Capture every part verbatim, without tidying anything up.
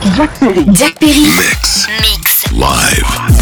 Jack Perry. Jack Perry. Mix. Mix. Live.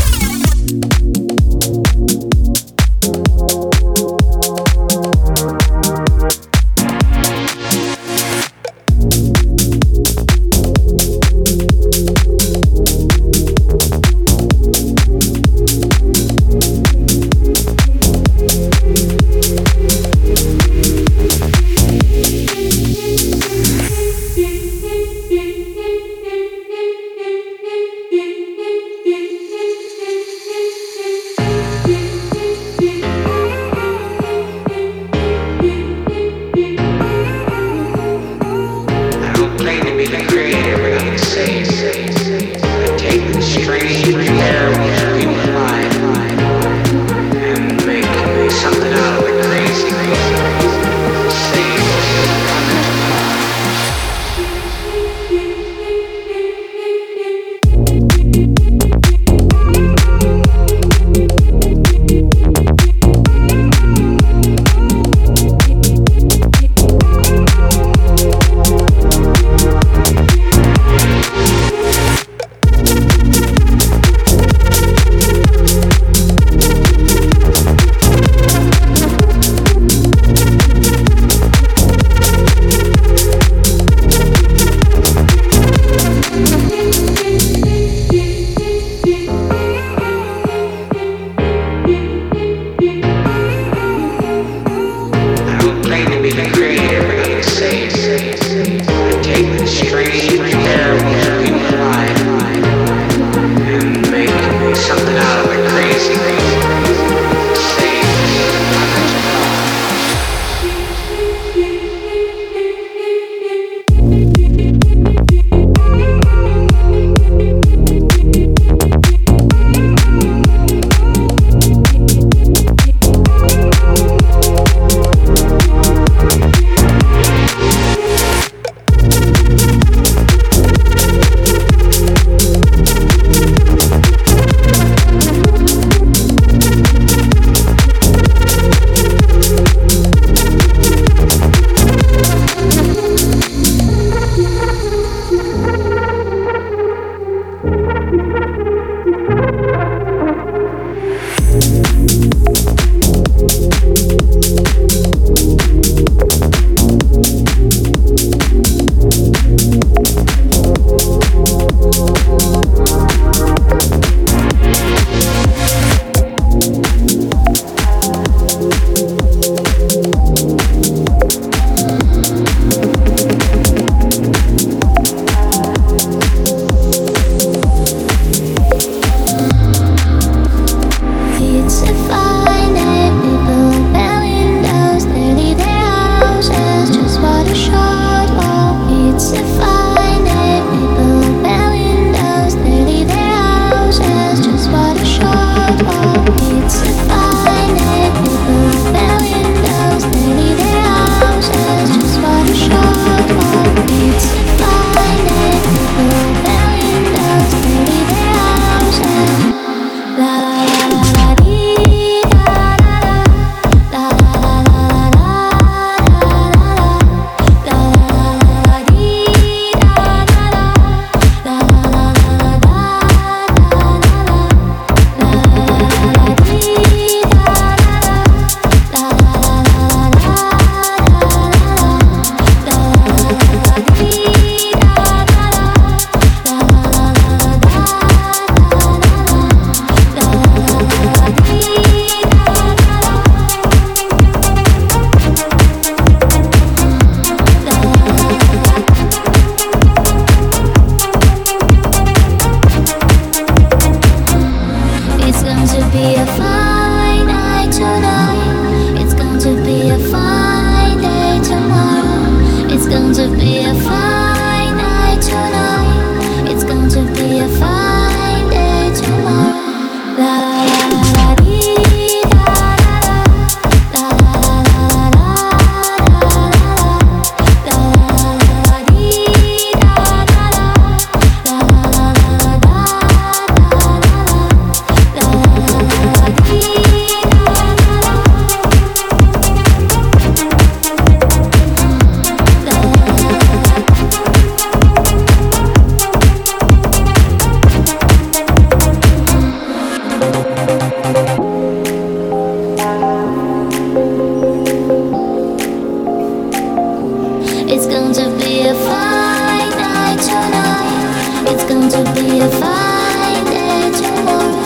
a fine night tonight. It's going to be a fine day tomorrow.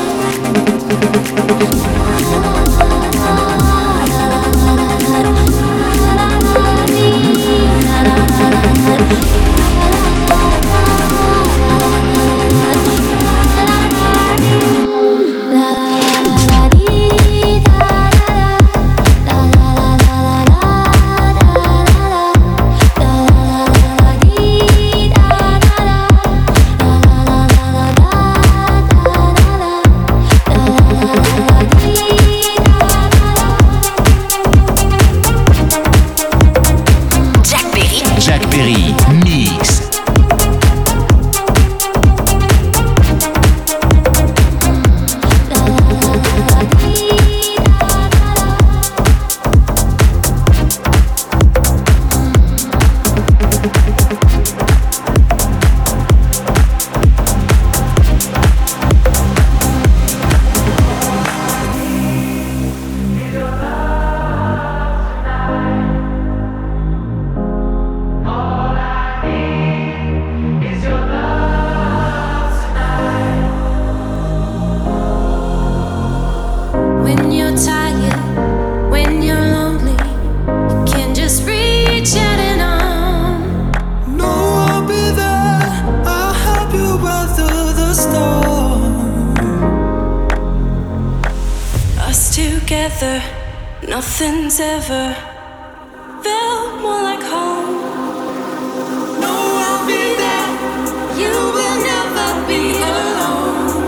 Nothing's ever felt more like home. No, I'll be there. You will never be alone.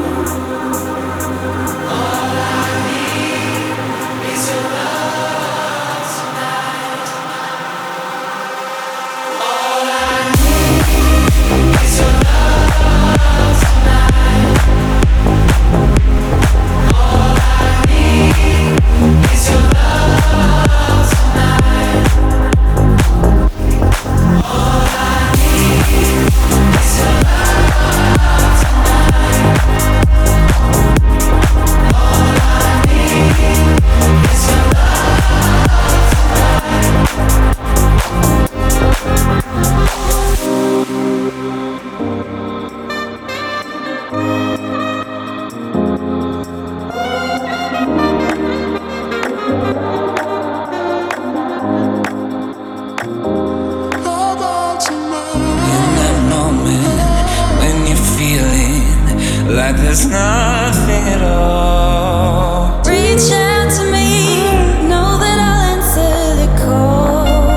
All I need is your love tonight. All I need is your love tonight. All I need is your love. Like there's nothing at all. Reach out to me, know that I'll answer the call.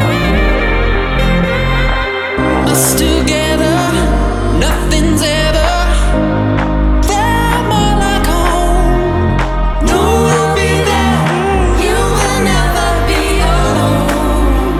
Us together, nothing's ever felt more like home. No, I'll be there. You will never be alone.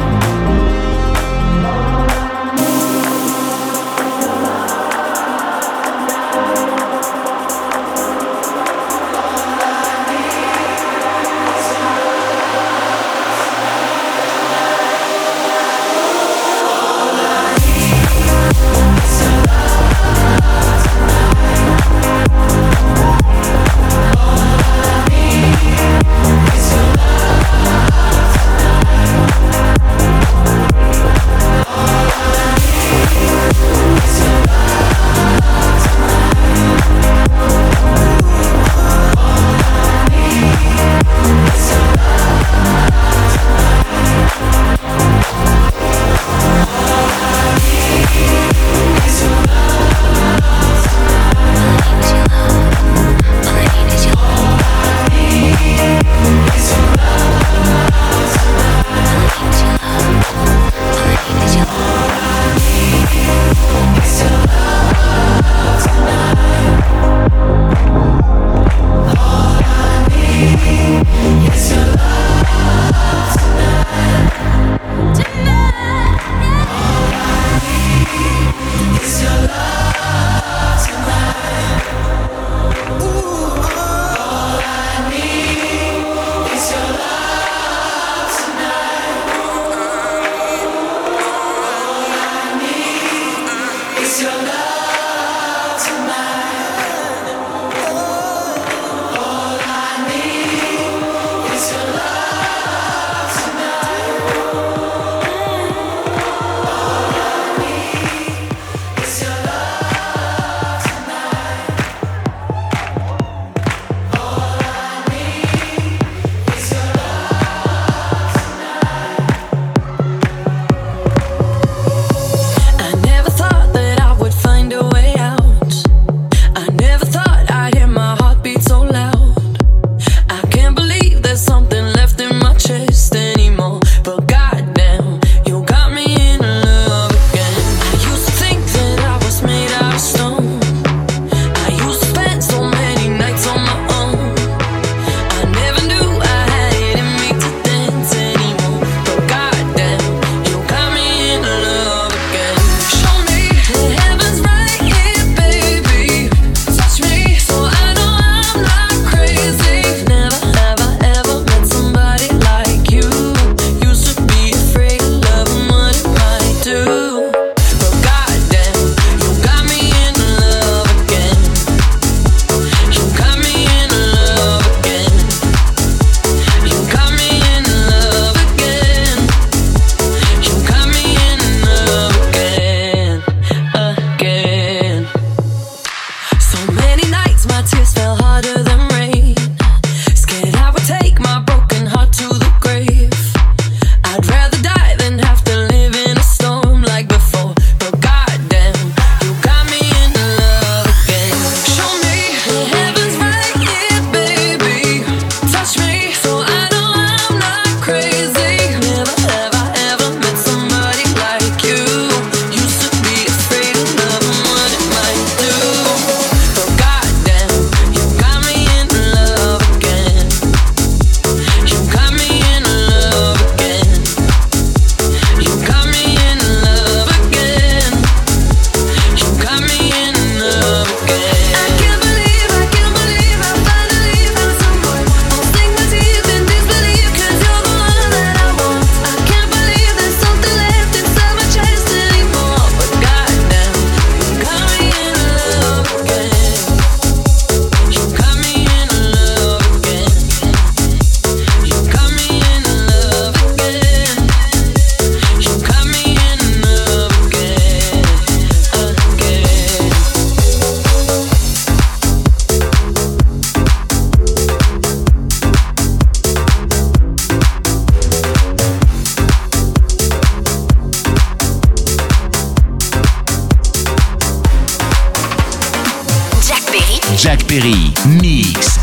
Jack Perry, Mix.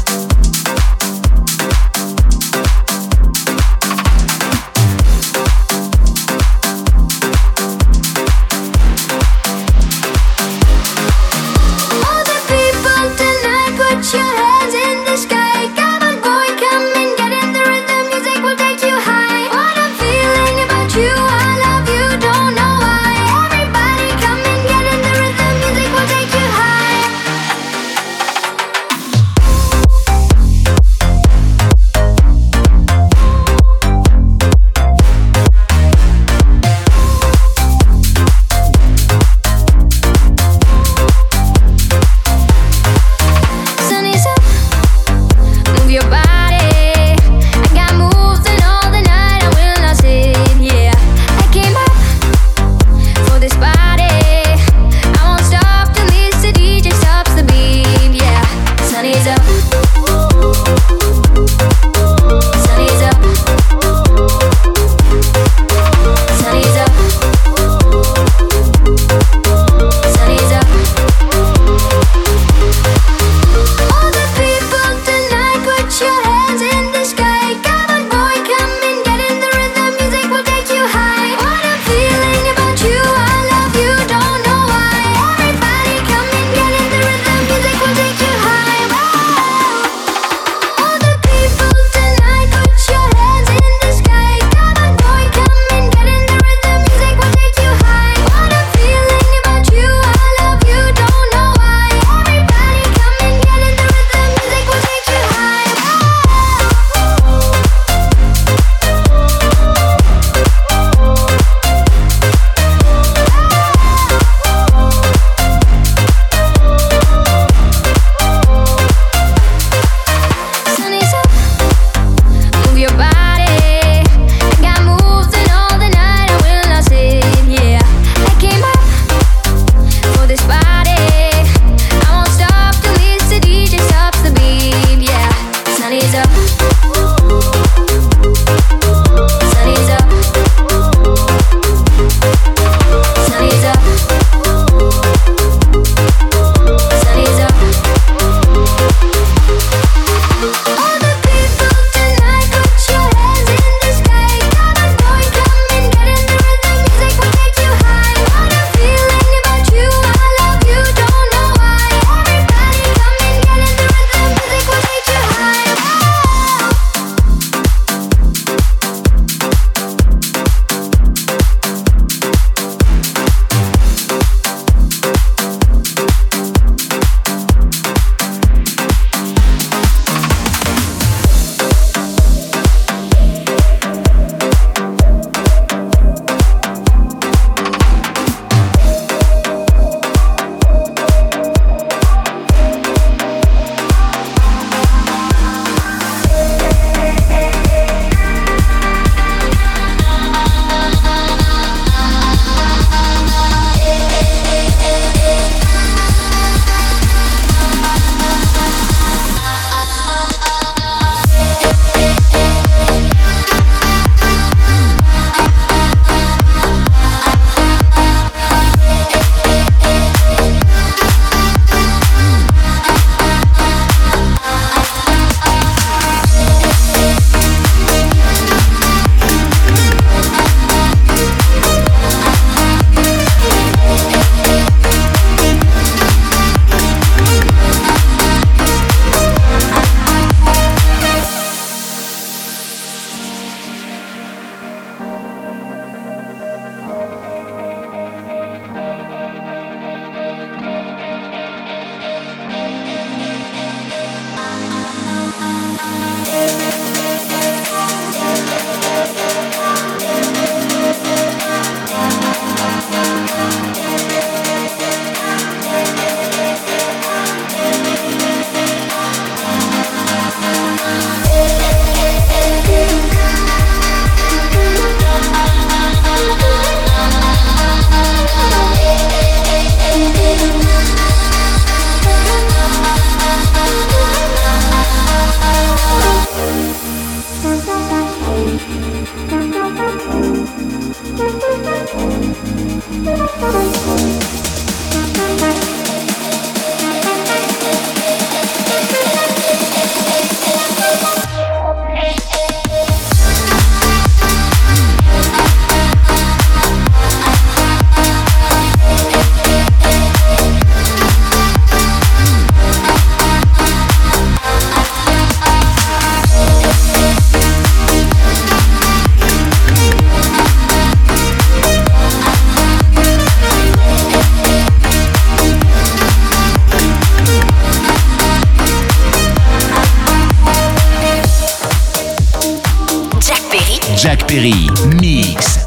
Perry, mix.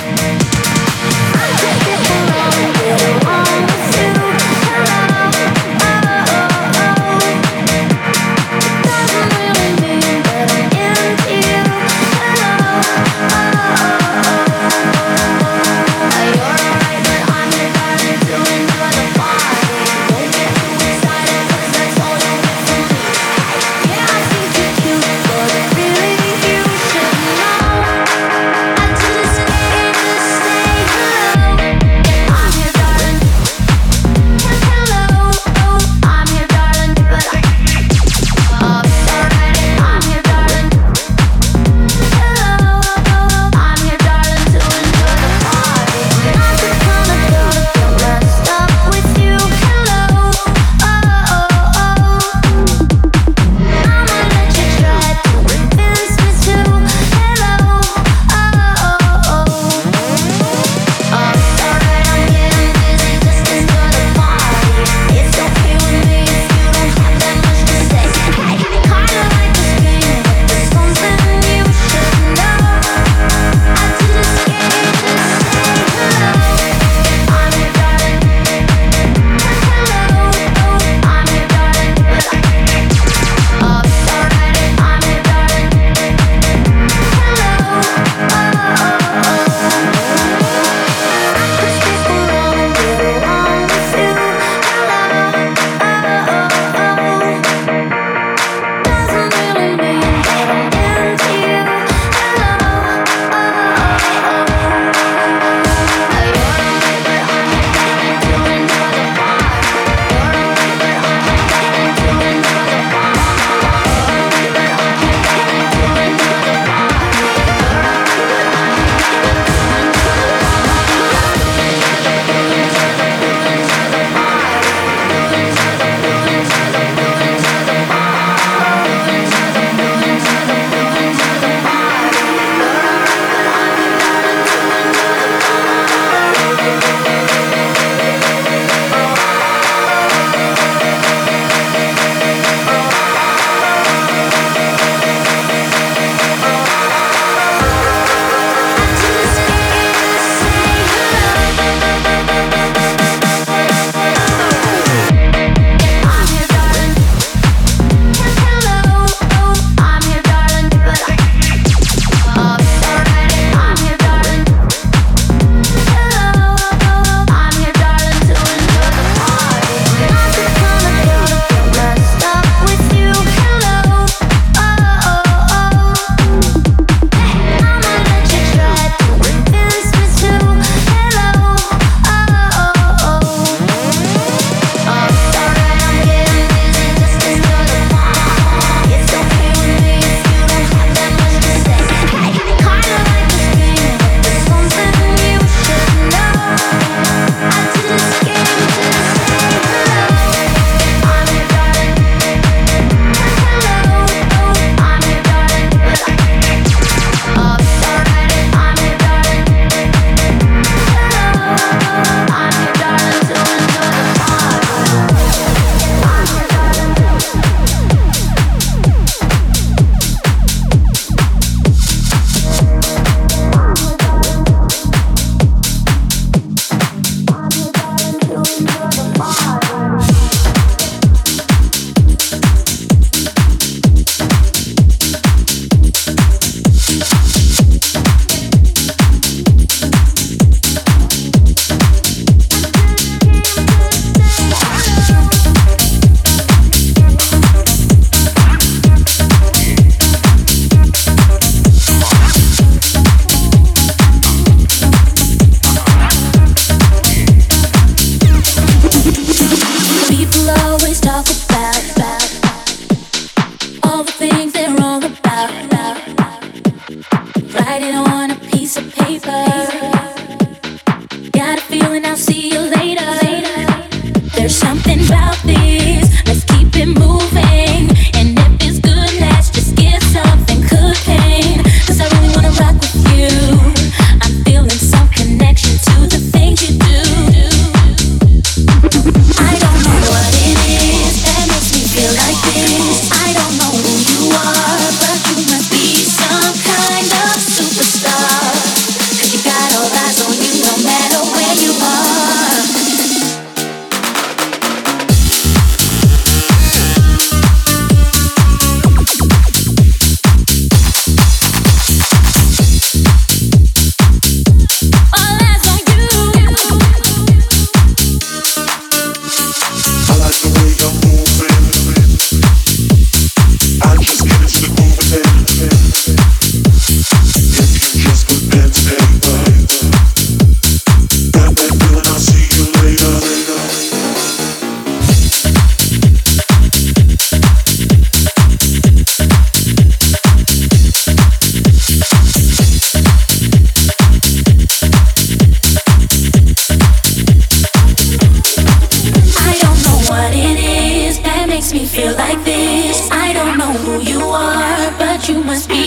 I take it along, get along with you.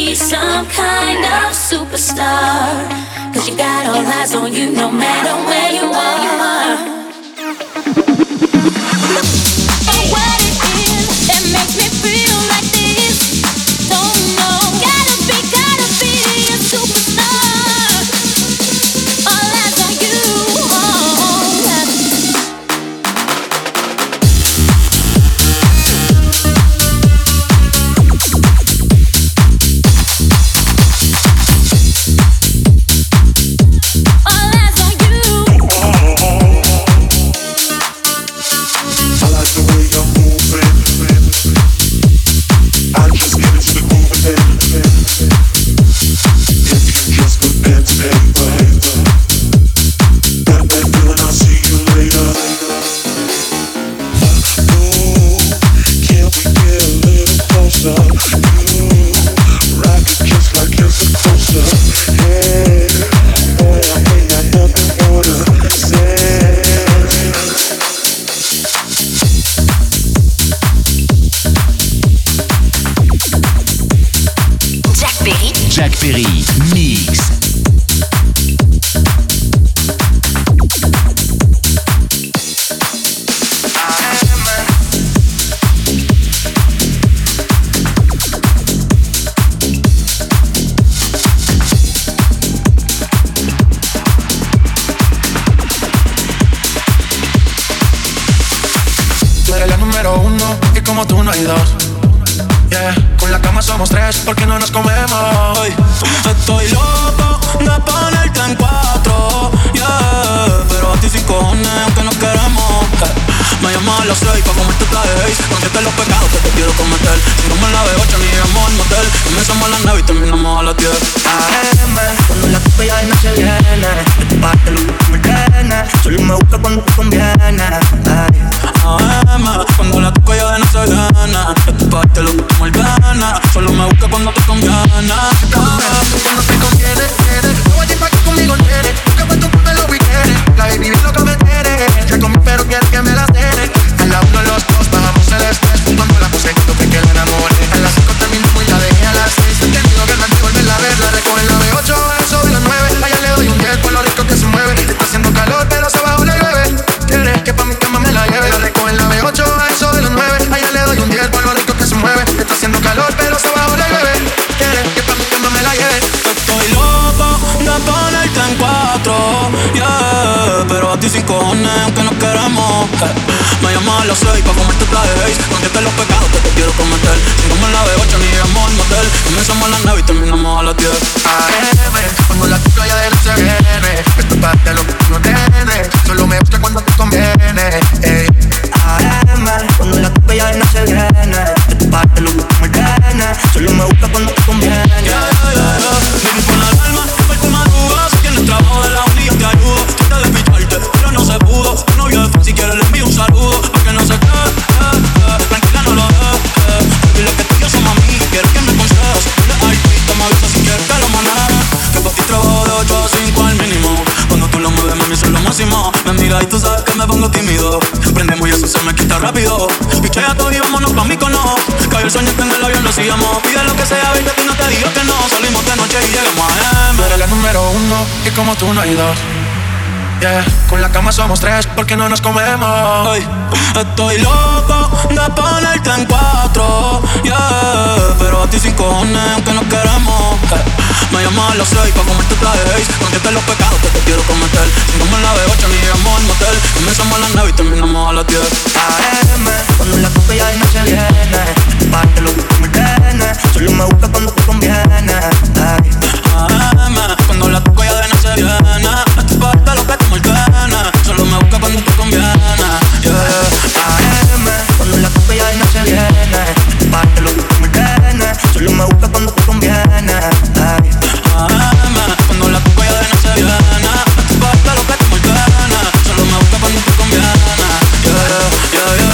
be some kind of superstar. Cause you got all eyes on you no matter where you are. Oh, what it is that makes me feel like this, don't know. Gotta be, gotta be a superstar. All eyes on you, oh, yeah. Jack Perry, Mix. Tú eres la número uno y como tú no hay dos. Yeah. Con la cama somos tres porque no nos comemos. Estoy loco de ponerte en cuatro, yeah. Pero a ti sin cojones aunque nos queremos, eh. Me llamas a las seis pa' comerte seis. Conteste los pecados que te quiero cometer. Si no me la de ocho ni vamos al motel. Comenzamos a las nueve y terminamos a las diez. A M, cuando la copa ya no se viene. De tu parte lo que me tiene. Solo me busca cuando te conviene. Ay. A M, cuando la toco ya de no se viene. De tu parte lo que me gana. Solo me busca cuando te conviene. Cuando te conviene, viene. No voy a ir pa' que conmigo viene. Busca pa' tu papel lo que quiere. La baby bien lo que me tiene. Ya comí pero quiere que me la tiene. A la uno los dos bajamos el estrés. Cuando la puse yo que la enamoré. A las cinco terminamos y la dejé a las seis. He tenido ganas de volverla a ver. La recoge en la B ocho, a eso de las nueve. Allá le doy un diez por lo rico que se mueve. Está haciendo calor pero se bajo le llueve. Quiere que pa' mi cama me la lleve. La recoge en la B ocho, a eso de las nueve. Allá le doy un diez por lo rico que se mueve. Está haciendo calor pero se bajo le llueve. Quiere que pa' mi cama me la lleve. Estoy loco de ponerte en cuatro, yeah. Pero a ti sin cojones aunque nos queremos, eh. Me llamas a las seis pa' comerte seis. Conteste los pecados que te quiero cometer. Si no me la de ocho ni vamos al motel. Comenzamos a las nueve y terminamos a las diez. A M, cuando la toco ya de no se viene. Esto es parte de lo que tú no tienes. Solo me busca cuando te conviene. Ey. A M, cuando la toco ya de no se viene. Esto es parte de lo que tú me tienes. Solo me busca cuando te conviene. Yeah, yeah, yeah, yeah. Baby, pon la alarma, porque tú madrugas. Si tienes trabajo de la uni yo te ayudo. Trata de picharte, pero no se pudo. Tu novio de fan, si quieres le envío un saludo. Porque no sé qué, eh, eh. Tranquila no lo dejes, eh. Dile que tú y yo somos amigos. Quieres que me aconsejes. Dile al pista, me avisa si quieres que lo maneje. Que pa' ti trabajo de ocho a cinco al mínimo. Cuando tú lo mueves, mami, eso es lo máximo. Me mira y tú sabes que me pongo tímido. Prendemos y eso se me quita rápido. Pichea todo y vámonos pa' Mykonos. Cayó el sueño que en el avión lo sigamos. Pide lo que sea, baby, que no te digo que no. Salimos de noche y llegamos a M. Tú eres la número uno y como tú no hay dos. Yeah. Con la cama somos tres porque no nos comemos. Ay, estoy loco de ponerte en cuatro, yeah. Pero a ti sin cojones aunque nos queremos, eh. Me llamas a las seis pa' comerte seis. Conteste los pecados que te quiero cometer. Si no me la de ocho ni vamos al motel. Comenzamos a las nueve y terminamos a las diez. A M, cuando la toco ya de no se viene. Parte lo que tú me tienes. Solo me busca cuando te conviene. Ay. A M, cuando la toco ya de no se viene. Esto es parte lo que tú me tienes. Solo me busca cuando te conviene, yeah, yeah. A M, cuando la toco ya de no se viene. Parte lo que tú me tienes. Solo me busca cuando te conviene. Ay. A M, cuando la toco ya de no se viene. Esto es parte lo que tú me tienes. Solo me busca cuando te conviene, yeah, yeah, yeah, yeah.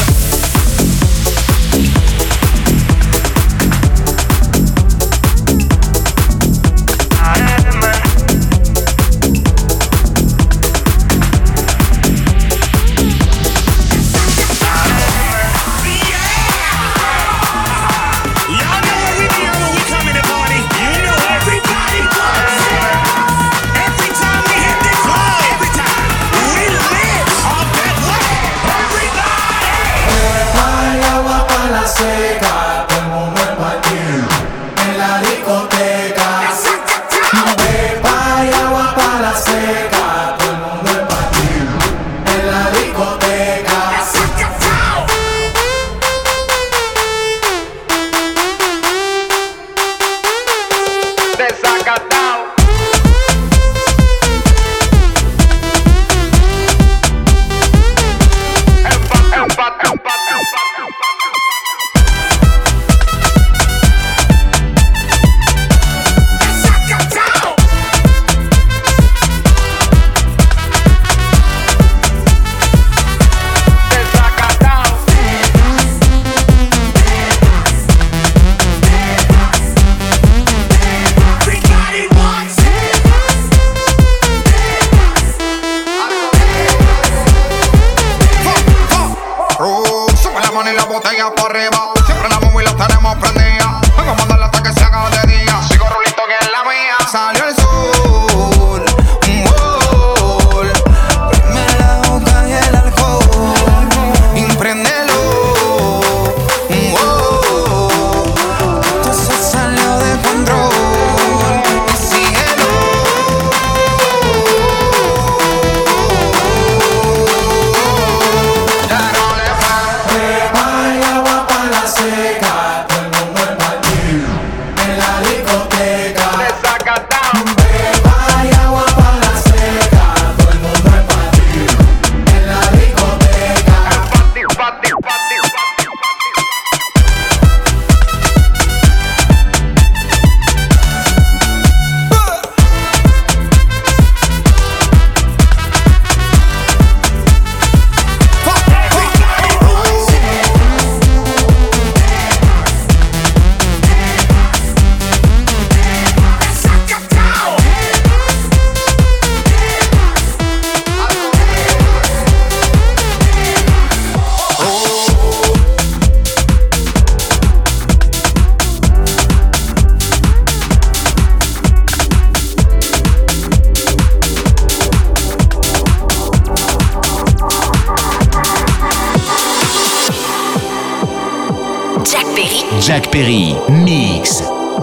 Jacques Perry, mix.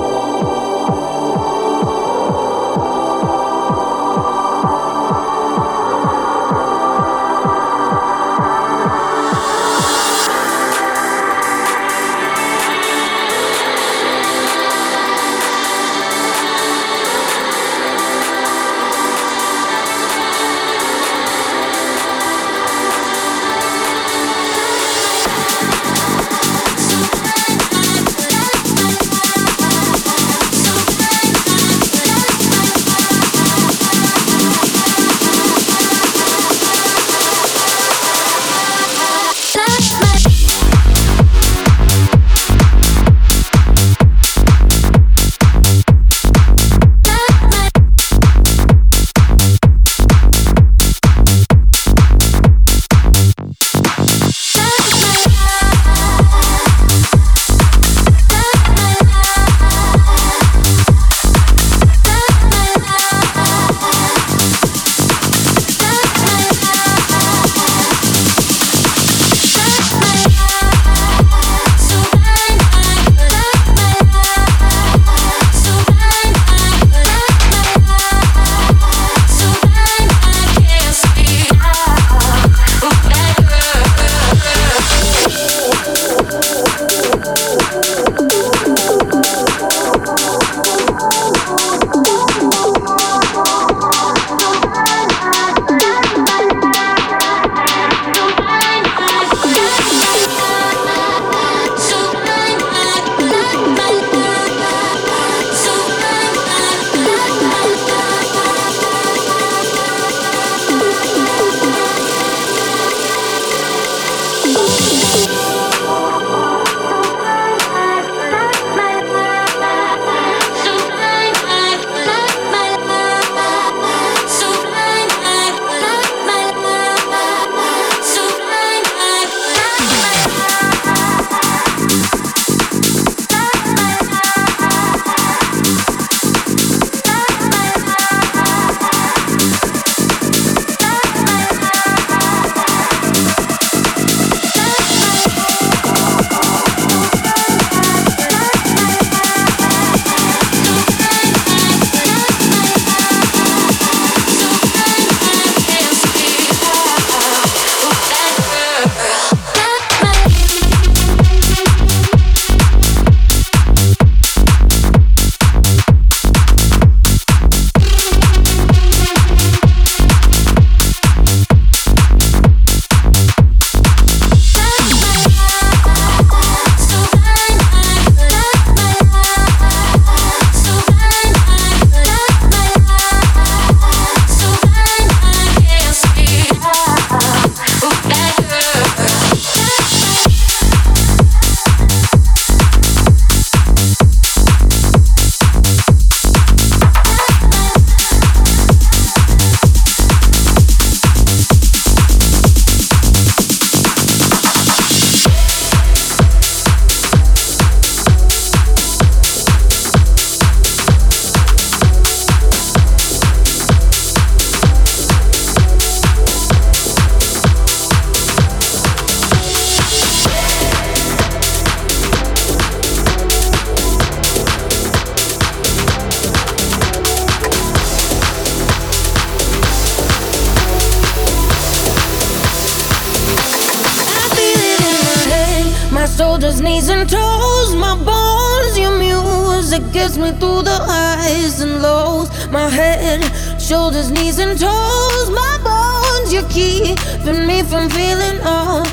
shoulders, knees and toes, my bones, your music gets me through the highs and lows. My head, shoulders, knees and toes, my bones, you're keeping me from feeling all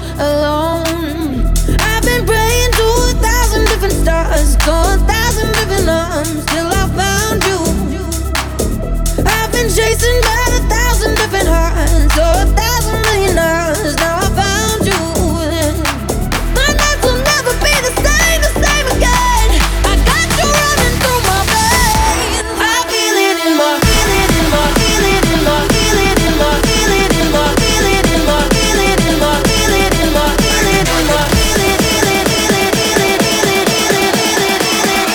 alone. I've been praying to a thousand different stars, to a thousand different arms, till I found you. I've been chasing by a thousand different hearts, so a thousand million hours, now I found you. My nights will never be the same, the same again. I got you running through my veins. I feel it in my, feel it in my, feel it in my, feel it in my, feel it in my, feel it in my, feel it in my, feel it in my, feel it in my, feel it, feel it, feel it, feel it, feel it, feel it, feel it, feel it.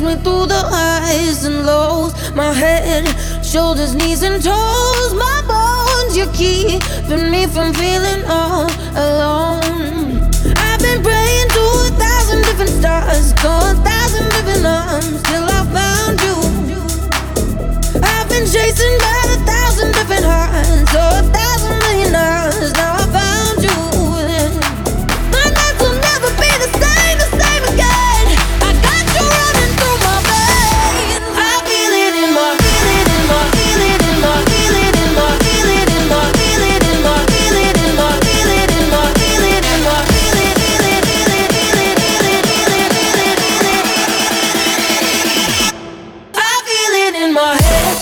me through the highs and lows. My head, shoulders, knees and toes. My bones, you're keeping me from feeling all alone. I've been praying to a thousand different stars, to a thousand different arms, till I found you. I've been chasing by a thousand different hearts, so a thousand million hours. Now I found you. My nights will never be the same, the same again. I got you running through my veins. I feel it in my, feel it in my, feel it in my, feel it in my, feel it in my, feel it in my, feel it in my, feel it in my, feel it in my, feel it, feel it, feel it, feel it, feel it, feel it, feel it, feel it. I feel it in my head.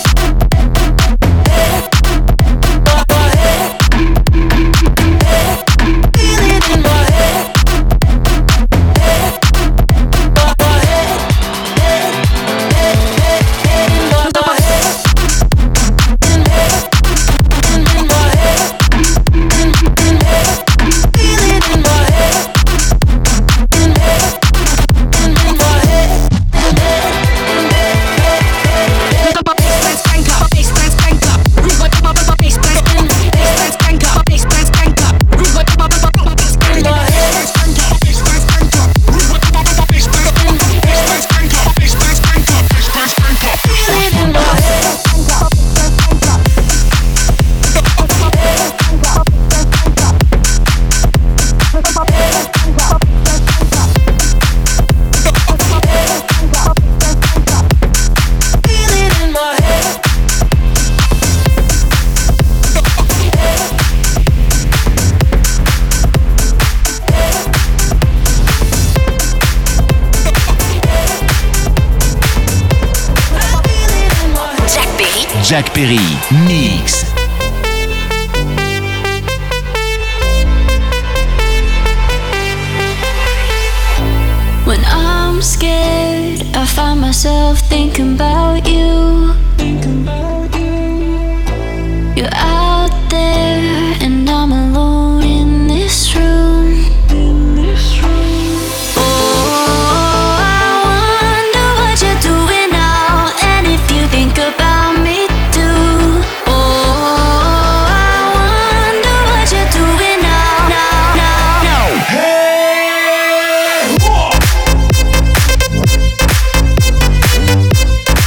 Jack Perry, Mix. When I'm scared, I find myself thinking about you. You're out there and I'm alone in this room. Oh, I wonder what you're doing now, and if you think about me too. Oh, I wonder what you're doing now, now, now, now. Hey,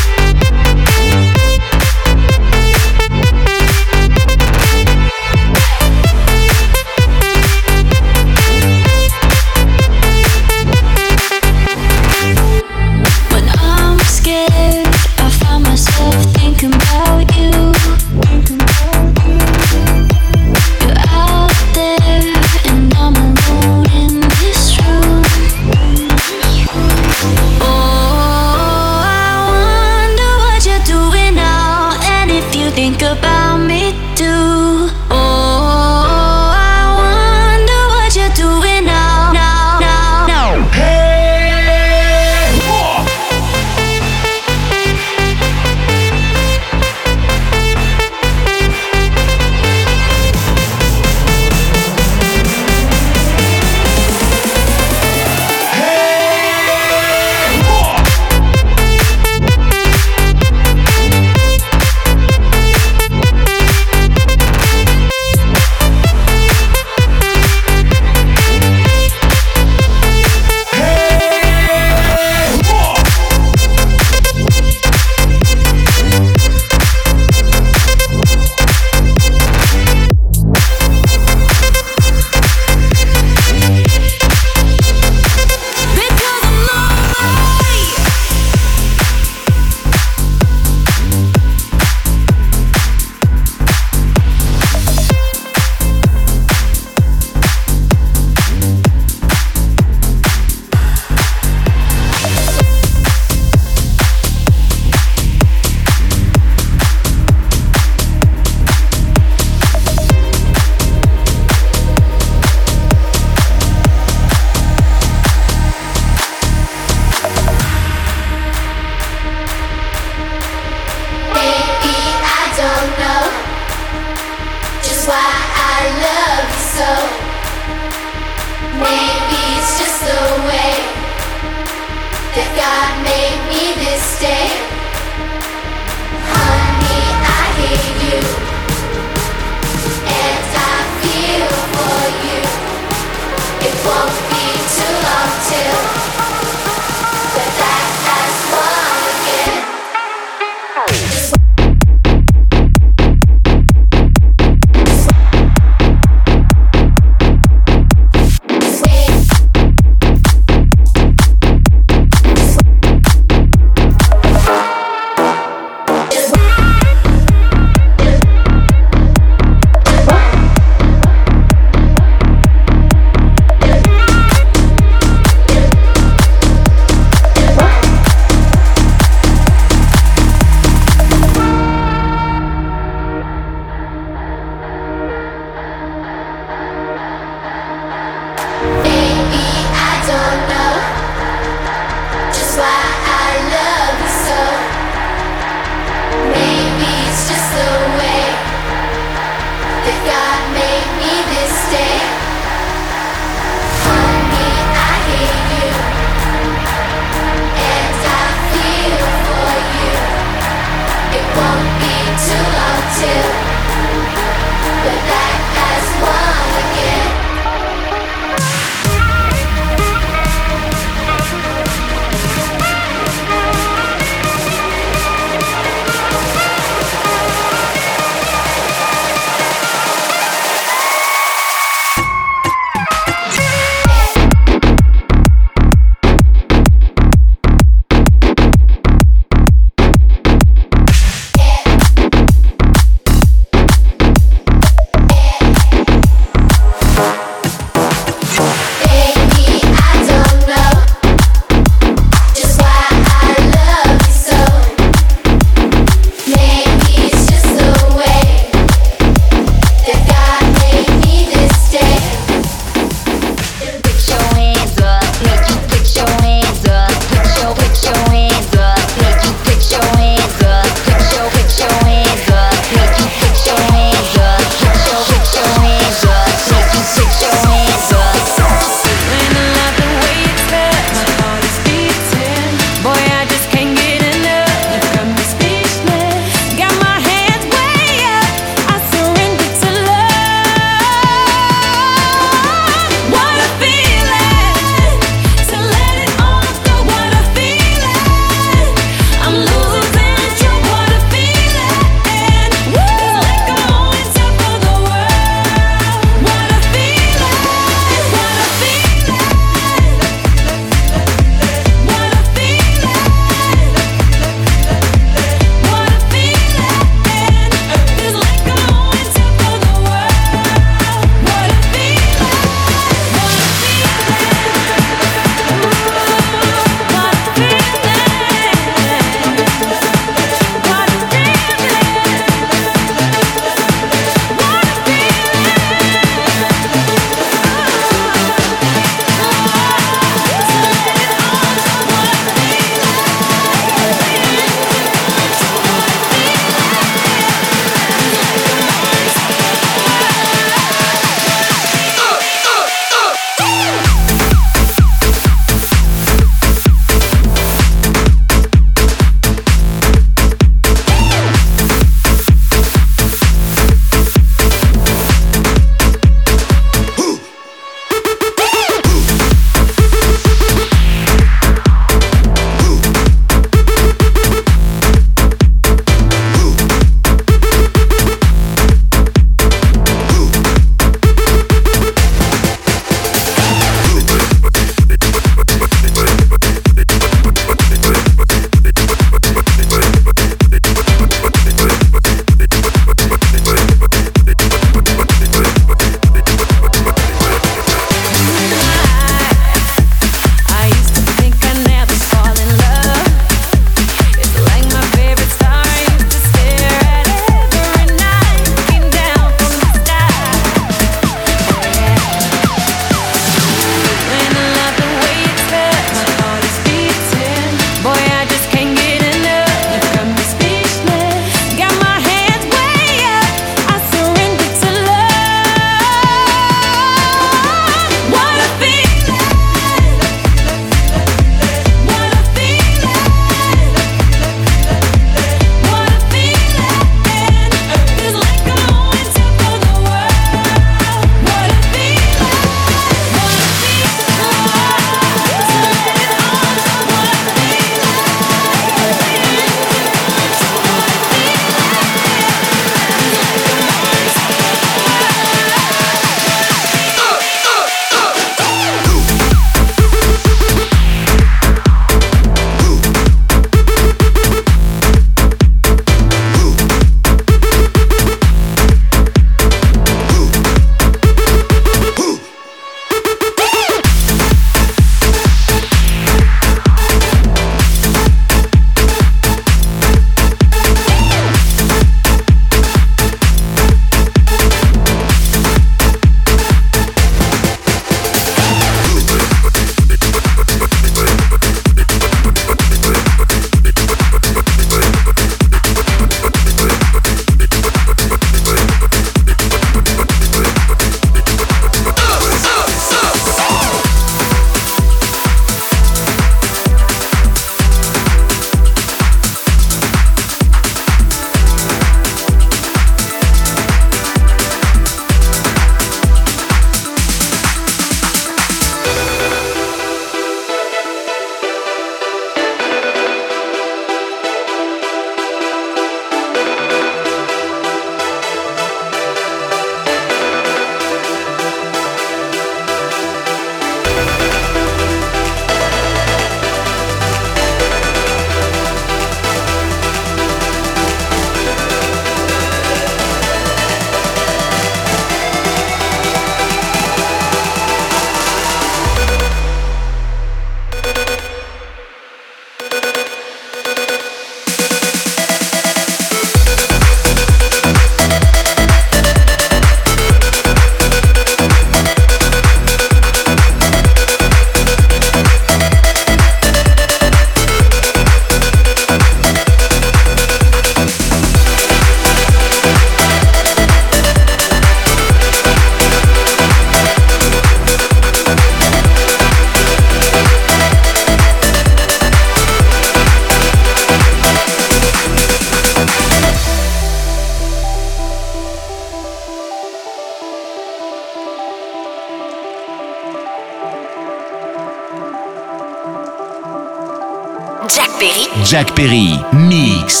Jack Perry. Jack Perry, mix.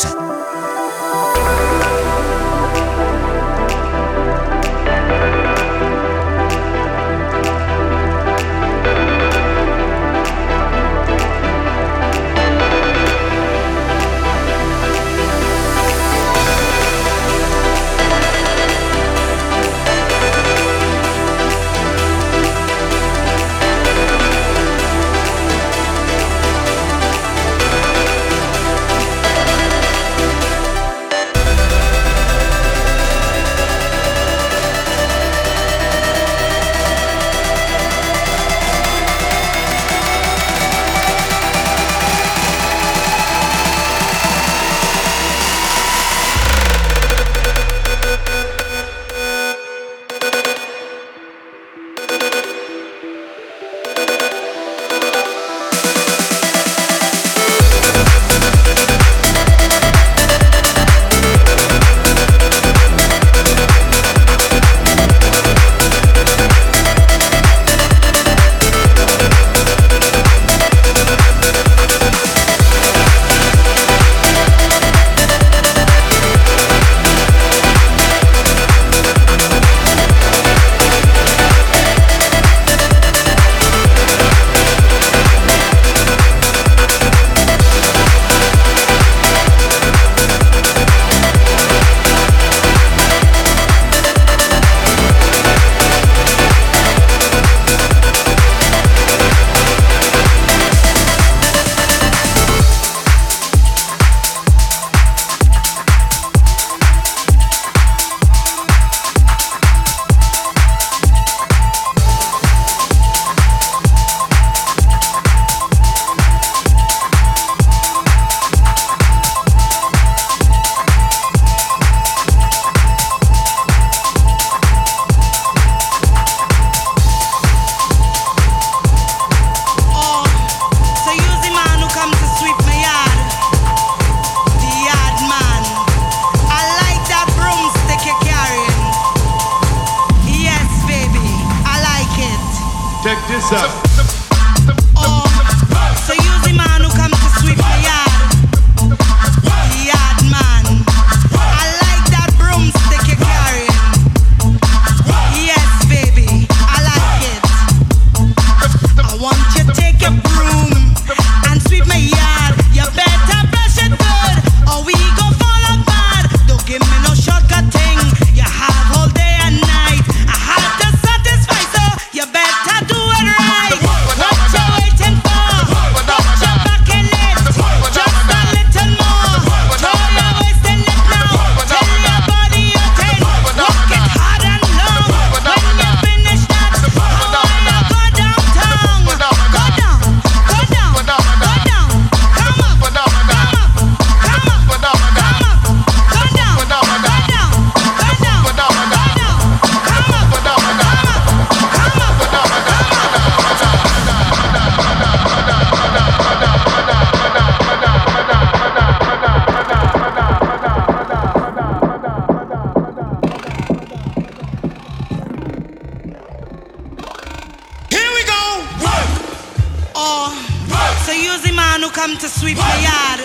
come to sweep my yard.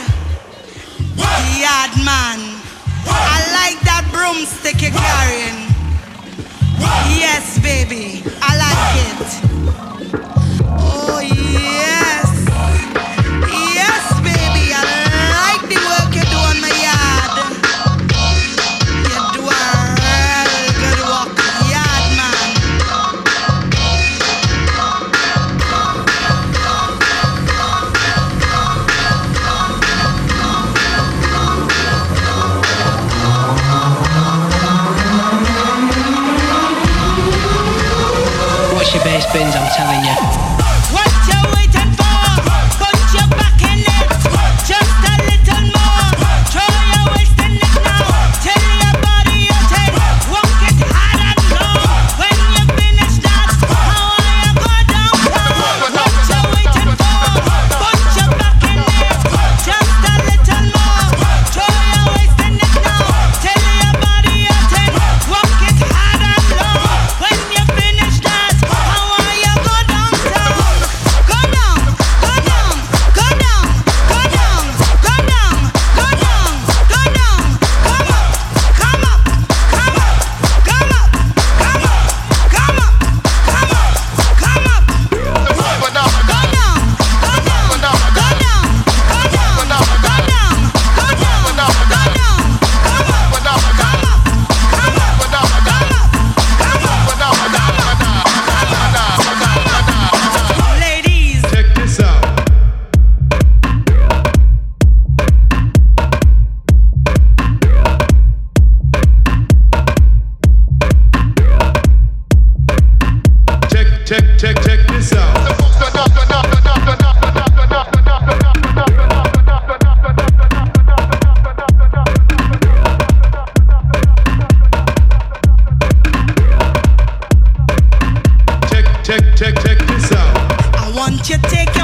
The yard man. I like that broomstick you're carrying. Yes, baby, I like it. Oh, yes. Yes, baby, I like the work you do on my yard. You do a real good work, yard man. Watch your bass bins, I'm telling you. What you waiting for? Put your back in it. Just a little more. Throw your waist in it now. Tell your body you're ten. Walk it hard and long. When you finish that, how are you go downtown? What you waiting for? Put your back in it. Just a little more. Throw your waist in it now. Tell your body you're ten. Walk it hard and long. When you finish that, how are you go downtown? check, check, check this out. Check, check, check, check this out. I want you to take your